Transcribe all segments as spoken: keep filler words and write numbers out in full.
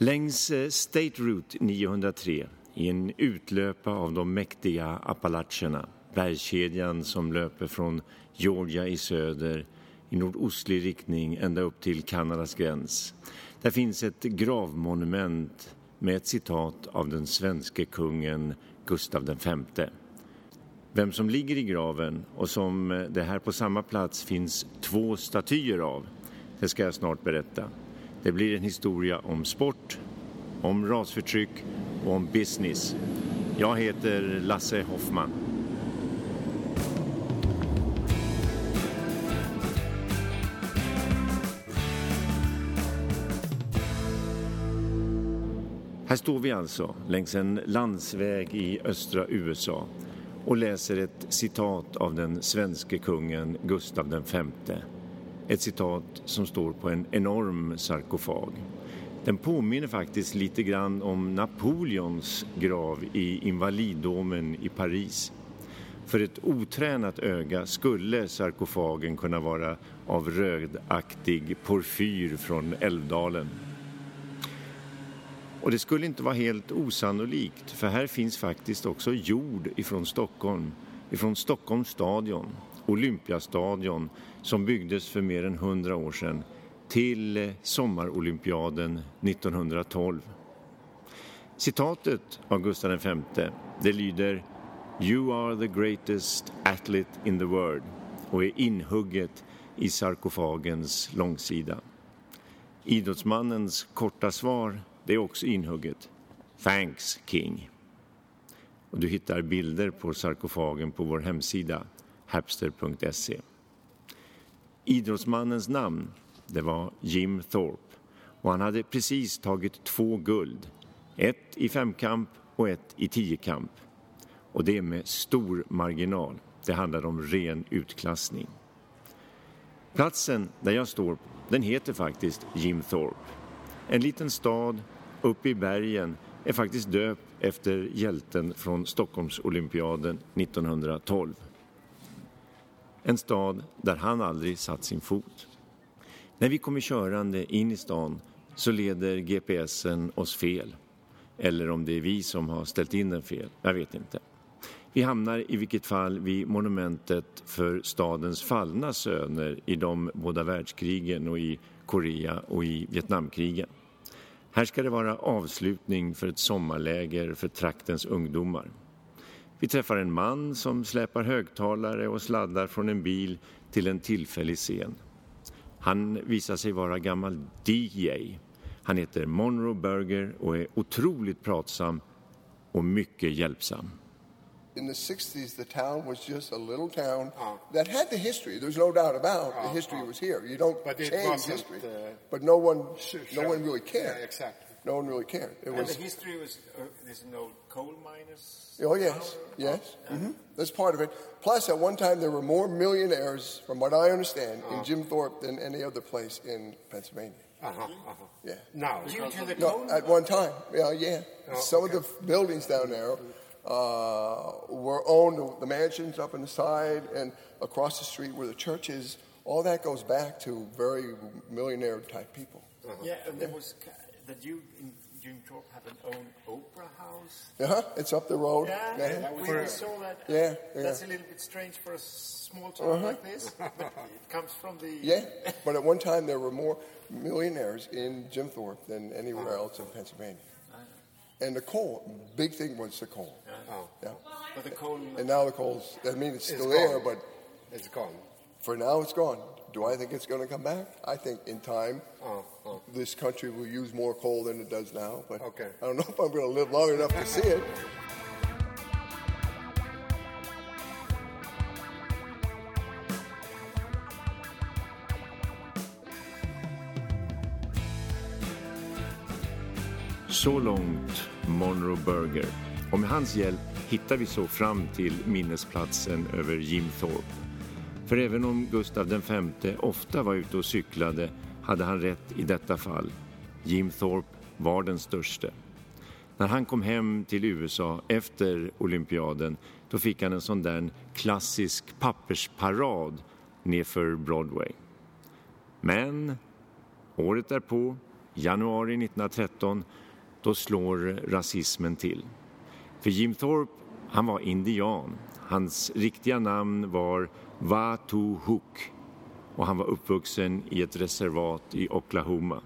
Längs State Route niohundratre, i en utlöpa av de mäktiga Appalacherna, bergskedjan som löper från Georgia i söder i nordostlig riktning ända upp till Kanadas gräns. Där finns ett gravmonument med ett citat av den svenske kungen Gustav den femte. Vem som ligger i graven och som det här på samma plats finns två statyer av, det ska jag snart berätta. Det blir en historia om sport, om rasförtryck och om business. Jag heter Lasse Hoffman. Här står vi alltså längs en landsväg i östra U S A och läser ett citat av den svenske kungen Gustav den femte. Ett citat som står på en enorm sarkofag. Den påminner faktiskt lite grann om Napoleons grav i Invalidomen i Paris. För ett otränat öga skulle sarkofagen kunna vara av rödaktig porfyr från Älvdalen. Och det skulle inte vara helt osannolikt, för här finns faktiskt också jord ifrån Stockholm, ifrån Stockholms stadion, Olympiastadion, som byggdes för mer än hundra år sedan till sommarolympiaden nittonhundratolv. Citatet av Gustav den femte, det lyder "You are the greatest athlete in the world" och är inhugget i sarkofagens långsida. Idrottsmannens korta svar, det är också inhugget. Thanks, King. Och du hittar bilder på sarkofagen på vår hemsida hapster punkt se. Idrottsmannens namn, det var Jim Thorpe. Och han hade precis tagit två guld. Ett i femkamp och ett i tiokamp. Och det med stor marginal. Det handlar om ren utklassning. Platsen där jag står, den heter faktiskt Jim Thorpe. En liten stad uppe i bergen är faktiskt döpt efter hjälten från Stockholmsolympiaden nittonhundratolv. En stad där han aldrig satt sin fot. När vi kommer körande in i stan så leder G P S'en oss fel. Eller om det är vi som har ställt in den fel, jag vet inte. Vi hamnar i vilket fall vid monumentet för stadens fallna söner i de båda världskrigen och i Korea och i Vietnamkrigen. Här ska det vara avslutning för ett sommarläger för traktens ungdomar. Vi träffar en man som släpar högtalare och sladdar från en bil till en tillfällig scen. Han visar sig vara gammal D J. Han heter Monroe Berger och är otroligt pratsam och mycket hjälpsam. In the sixties, the town was just a little town oh. that had the history. There's no doubt about oh, the history oh. was here. You don't but change history, uh, but no one, sure, no sure. one really cared. Yeah, exactly. No one really cared. It and was the history was uh, there's no coal miners. Oh yes, yes. Oh. Mm-hmm. That's part of it. Plus, at one time, there were more millionaires, from what I understand, oh. in Jim Thorpe than any other place in Pennsylvania. Uh-huh, uh-huh. Yeah. Now, due to the no, coal at one time, yeah, yeah. Oh, Some okay. of the buildings down there. Uh, were owned, the mansions up on the side and across the street where the church is, all that goes back to very millionaire type people. Uh-huh. Yeah, and there was that you in Jim Thorpe have an own opera house. Uh-huh, it's up the road. Yeah, yeah. yeah. we for, saw that. Yeah, yeah, that's a little bit strange for a small town uh-huh. like this, but it comes from the... Yeah, but at one time there were more millionaires in Jim Thorpe than anywhere uh-huh. else in Pennsylvania. And the coal, big thing was the coal. Yeah. Oh. Yeah. But the coal... And now the coal's, I mean, it's still it's there, but... It's gone. For now, it's gone. Do I think it's going to come back? I think in time, oh, oh. this country will use more coal than it does now. But okay. I don't know if I'm going to live long enough to see it. Så långt Monroe Berger. Och med hans hjälp hittar vi så fram till minnesplatsen över Jim Thorpe. För även om Gustav den femte ofta var ute och cyklade hade han rätt i detta fall. Jim Thorpe var den störste. När han kom hem till U S A efter olympiaden då fick han en sån där klassisk pappersparad nedför Broadway. Men året därpå januari nittonhundratretton, då slår rasismen till. För Jim Thorpe, han var indian. Hans riktiga namn var Watuhook och han var uppvuxen i ett reservat i Oklahoma.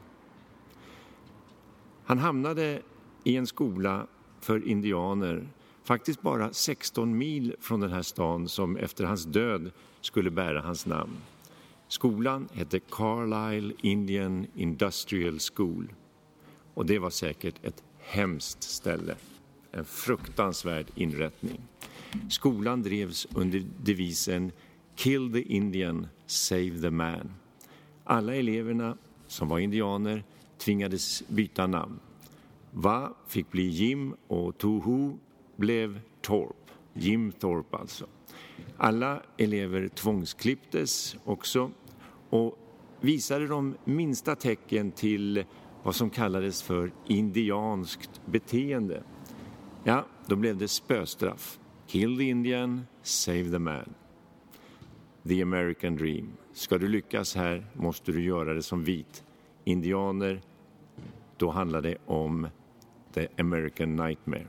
Han hamnade i en skola för indianer, faktiskt bara sexton mil från den här stan som efter hans död skulle bära hans namn. Skolan hette Carlisle Indian Industrial School och det var säkert ett hemskt ställe, en fruktansvärd inrättning. Skolan drevs under devisen Kill the Indian, save the man. Alla eleverna som var indianer tvingades byta namn. Va fick bli Jim och Toho blev Thorpe, Jim Thorpe alltså. Alla elever tvångsklipptes också och visade de minsta tecken till vad som kallades för indianskt beteende. Ja, då blev det spöstraff. Kill the Indian, save the man. The American Dream. Ska du lyckas här måste du göra det som vit. Indianer, då handlar det om The American Nightmare.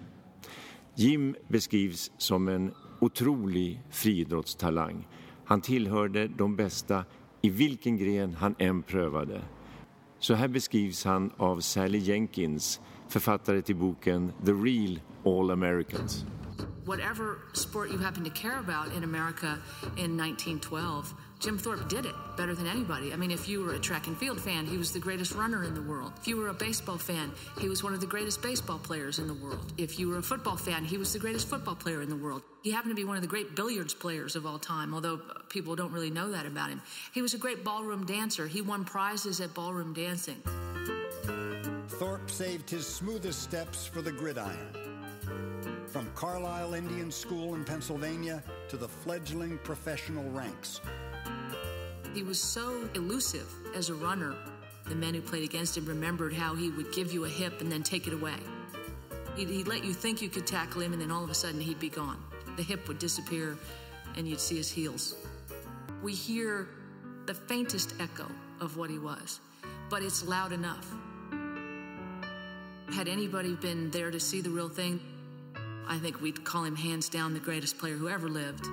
Jim beskrivs som en otrolig friidrottstalang. Han tillhörde de bästa i vilken gren han än prövade. Så här beskrivs han av Sally Jenkins, författare till boken The Real All Americans. Whatever sport you happen to care about in America in nineteen twelve, Jim Thorpe did it better than anybody. I mean, if you were a track and field fan, he was the greatest runner in the world. If you were a baseball fan, he was one of the greatest baseball players in the world. If you were a football fan, he was the greatest football player in the world. He happened to be one of the great billiards players of all time, although people don't really know that about him. He was a great ballroom dancer. He won prizes at ballroom dancing. Thorpe saved his smoothest steps for the gridiron. From Carlisle Indian School in Pennsylvania to the fledgling professional ranks. He was so elusive as a runner. The men who played against him remembered how he would give you a hip and then take it away. He'd, he'd let you think you could tackle him and then all of a sudden he'd be gone. The hip would disappear and you'd see his heels. We hear the faintest echo of what he was, but it's loud enough. Had anybody been there to see the real thing, I think we'd call him hands down the greatest player who ever lived.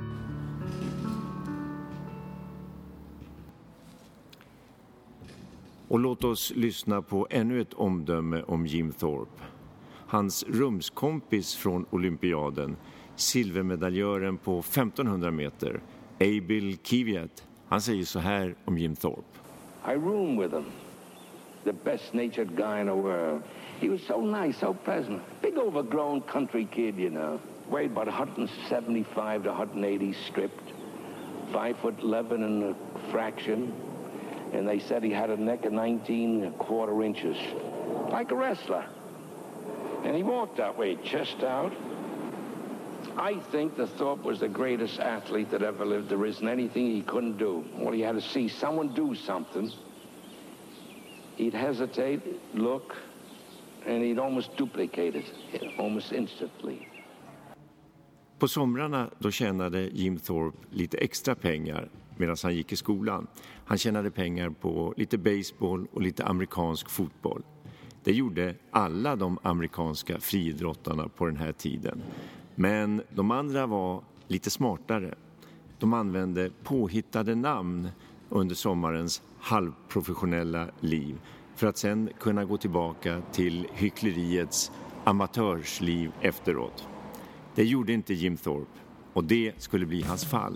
Och låt oss lyssna på ännu ett omdöme om Jim Thorpe. Hans rumskompis från olympiaden, silvermedaljören på femtonhundra meter, Abel Kvyat, han säger så här om Jim Thorpe. I roomed with him. The best-natured guy in the world. He was so nice, so pleasant. Big overgrown country kid, you know. Weighed about one seventy-five to one eighty stripped. Five foot eleven and a fraction. And they said he had a neck of nineteen and a quarter inches. Like a wrestler. And he walked that way, chest out. I think that Thorpe was the greatest athlete that ever lived. There isn't anything he couldn't do. All he had to see someone do something. He'd hesitate, look, and he'd almost duplicate it, almost instantly. På somrarna då tjänade Jim Thorpe lite extra pengar medan han gick i skolan. Han tjänade pengar på lite baseball och lite amerikansk fotboll. Det gjorde alla de amerikanska friidrottarna på den här tiden. Men de andra var lite smartare. De använde påhittade namn under sommarens halvprofessionella liv för att sen kunna gå tillbaka till hyckleriets amatörsliv efteråt. Det gjorde inte Jim Thorpe och det skulle bli hans fall.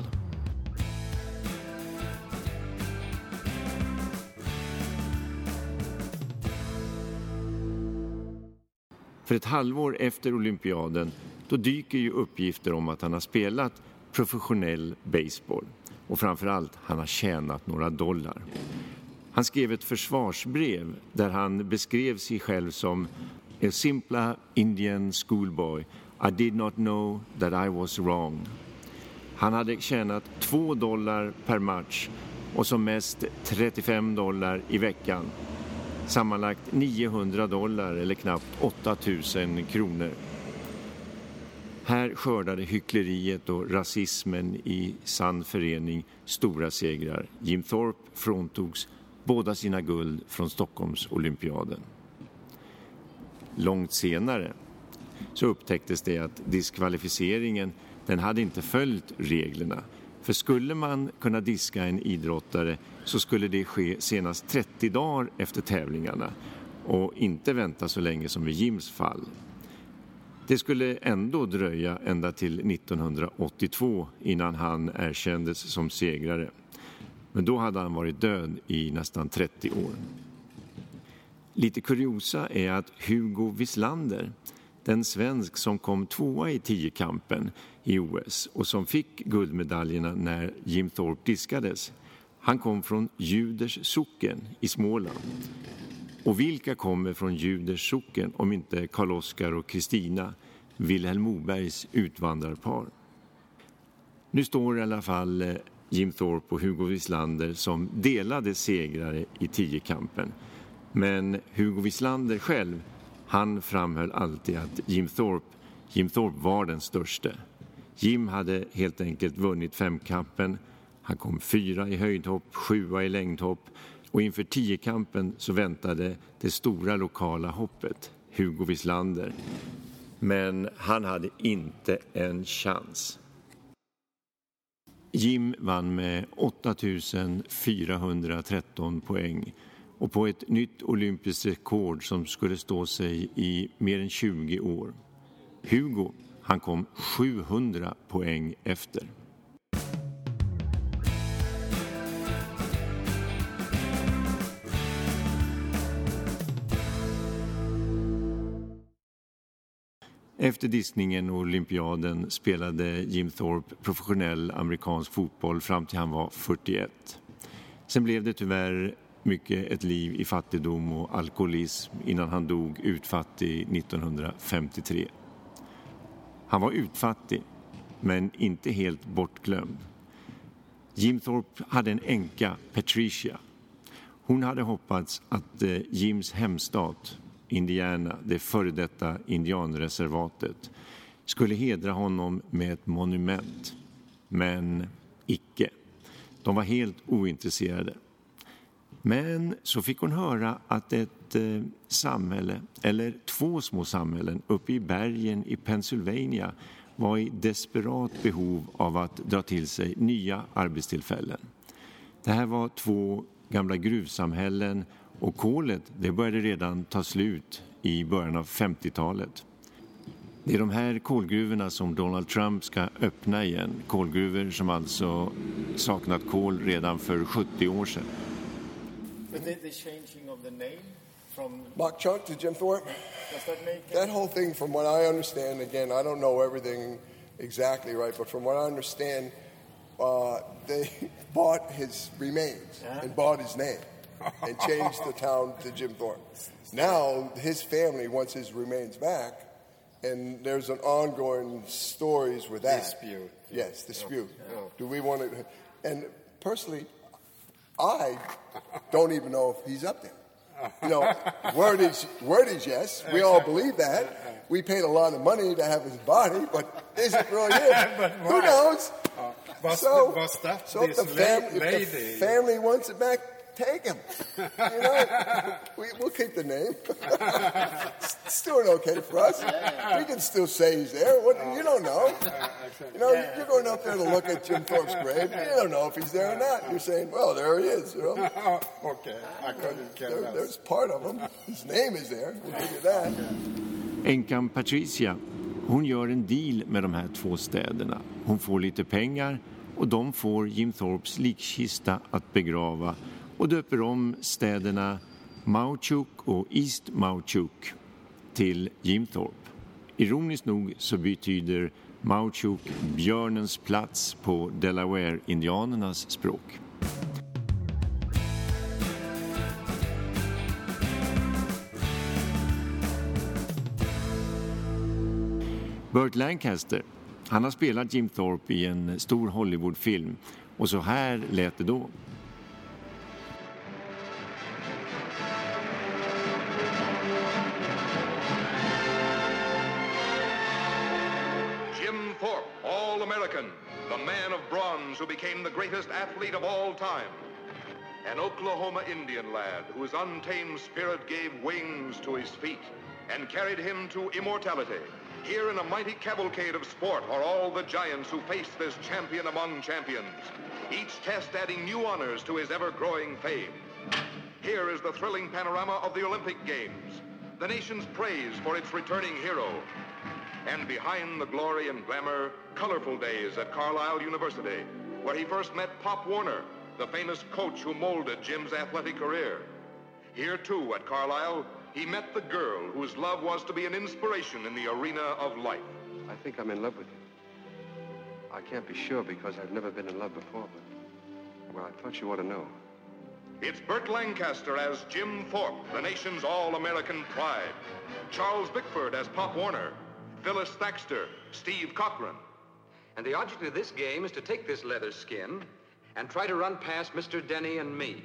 För ett halvår efter olympiaden då dyker ju uppgifter om att han har spelat professionell baseball. Och framförallt, han har tjänat några dollar. Han skrev ett försvarsbrev där han beskrev sig själv som a simple Indian schoolboy. I did not know that I was wrong. Han hade tjänat två dollar per match och som mest trettiofem dollar i veckan. Sammanlagt niohundra dollar eller knappt åtta tusen kronor. Här skördade hyckleriet och rasismen i sann förening stora segrar. Jim Thorpe fråntogs båda sina guld från Stockholms olympiaden. Långt senare så upptäcktes det att diskvalificeringen den hade inte följt reglerna. För skulle man kunna diska en idrottare så skulle det ske senast trettio dagar efter tävlingarna och inte vänta så länge som i Jims fall. Det skulle ändå dröja ända till nittonhundraåttiotvå innan han erkändes som segrare. Men då hade han varit död i nästan trettio år. Lite kuriosa är att Hugo Wislander, den svensk som kom tvåa i tiokampen i O S och som fick guldmedaljerna när Jim Thorpe diskades, han kom från Juders socken i Småland. Och vilka kommer från Juders socken om inte Karl-Oskar och Kristina, Vilhelm Mobergs utvandrarpar? Nu står i alla fall Jim Thorpe och Hugo Wislander som delade segrare i tiokampen. Men Hugo Wislander själv, han framhöll alltid att Jim Thorpe, Jim Thorpe var den största. Jim hade helt enkelt vunnit femkampen. Han kom fyra i höjdhopp, sjua i längdhopp. Och inför tiokampen så väntade det stora lokala hoppet, Hugo Wislander. Men han hade inte en chans. Jim vann med åtta tusen fyrahundratretton poäng och på ett nytt olympiskt rekord som skulle stå sig i mer än tjugo år. Hugo, han kom sjuhundra poäng efter. Efter diskningen och olympiaden spelade Jim Thorpe professionell amerikansk fotboll fram till han var fyrtioett. Sen blev det tyvärr mycket ett liv i fattigdom och alkoholism innan han dog utfattig nittonhundrafemtiotre. Han var utfattig, men inte helt bortglömd. Jim Thorpe hade en änka, Patricia. Hon hade hoppats att eh, Jims hemstat, Indiana, det före detta indianreservatet, skulle hedra honom med ett monument. Men icke. De var helt ointresserade. Men så fick hon höra att ett eh, samhälle, eller två små samhällen uppe i bergen i Pennsylvania var i desperat behov av att dra till sig nya arbetstillfällen. Det här var två gamla gruvsamhällen och kolet det började redan ta slut i början av femtiotalet. Det är de här kolgruvorna som Donald Trump ska öppna igen. Kolgruvor som alltså saknat kol redan för sjuttio år sedan. But the, the changing of the name from Bok Chunk to Jim Thorpe? Does that make That whole thing, from what I understand, again, I don't know everything exactly right, but from what I understand, uh, they bought his remains yeah. and bought his name and changed the town to Jim Thorpe. Now his family wants his remains back, and there's an ongoing stories with that. Dispute. Yes, dispute. Yeah. Yeah. Do we want to? And personally, I don't even know if he's up there. You know, word is, word is yes. We all believe that. We paid a lot of money to have his body, but is it really him? Who knows? Uh, was so, the, was that so if, the fam- if the family wants it back, take him. You know, we, we'll keep the name. It's doing okay for us. We can still say he's there. What, you don't know. You know, you're going up there to look at Jim Thorpe's grave. You don't know if he's there or not. You're saying, well, there he is. You know? Okay, I couldn't care there, less. There's part of him. His name is there. We'll give you that. Änkan Patricia, hon gör en deal med de här två städerna. Hon får lite pengar och de får Jim Thorpes likkista att begrava och döper om städerna Mauchuk och East Mauchuk till Jim Thorpe. Ironiskt nog så betyder Mauchuk björnens plats på Delaware-indianernas språk. Burt Lancaster, han har spelat Jim Thorpe i en stor Hollywoodfilm och så här lät det då. Jim Thorpe, All-American, the man of bronze who became the greatest athlete of all time. an Oklahoma Indian lad whose untamed spirit gave wings to his feet and carried him to immortality. Here in a mighty cavalcade of sport are all the giants who face this champion among champions, each test adding new honors to his ever-growing fame. Here is the thrilling panorama of the Olympic Games, the nation's praise for its returning hero. And behind the glory and glamour, colorful days at Carlisle University, where he first met Pop Warner, the famous coach who molded Jim's athletic career. Here, too, at Carlisle, he met the girl whose love was to be an inspiration in the arena of life. I think I'm in love with you. I can't be sure because I've never been in love before, but, well, I thought you ought to know. It's Burt Lancaster as Jim Thorpe, the nation's all-American pride. Charles Bickford as Pop Warner. Phyllis Thaxter, Steve Cochran. And the object of this game is to take this leather skin and try to run past Mister Denny and me.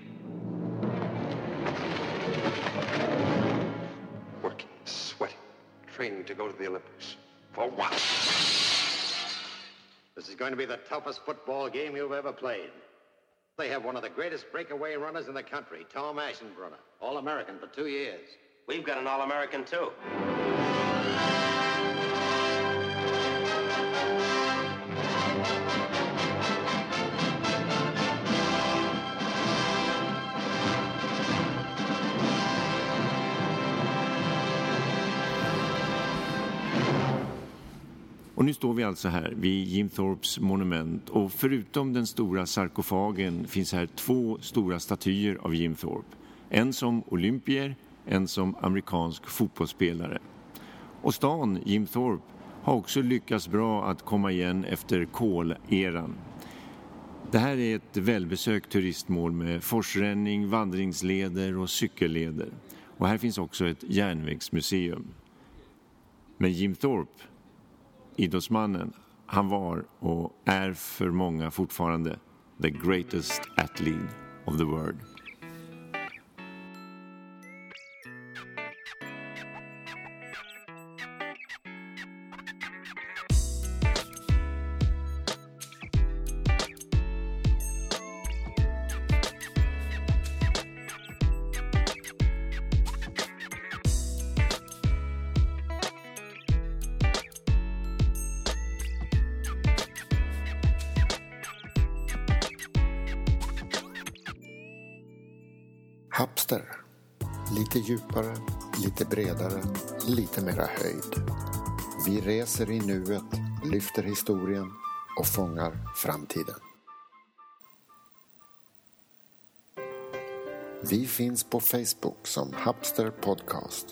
Working, sweating, training to go to the Olympics. For what? This is going to be the toughest football game you've ever played. They have one of the greatest breakaway runners in the country, Tom Ashenbrunner, All-American for two years. We've got an All-American, too. Och nu står vi alltså här vid Jim Thorpes monument, och förutom den stora sarkofagen finns här två stora statyer av Jim Thorpe. En som olympier, en som amerikansk fotbollsspelare. Och stan Jim Thorpe har också lyckats bra att komma igen efter koleran. Det här är ett välbesökt turistmål med forsränning, vandringsleder och cykelleder. Och här finns också ett järnvägsmuseum. Men Jim Thorpe, idrottsmannen, han var och är för många fortfarande the greatest athlete of the world. Hapster. Lite djupare, lite bredare, lite mera höjd. Vi reser i nuet, lyfter historien och fångar framtiden. Vi finns på Facebook som Hapster Podcast.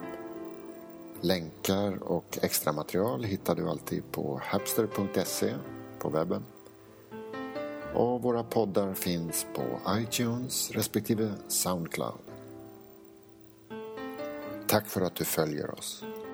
Länkar och extra material hittar du alltid på hapster punkt se på webben. Och våra poddar finns på iTunes respektive Soundcloud. Tack för att du följer oss.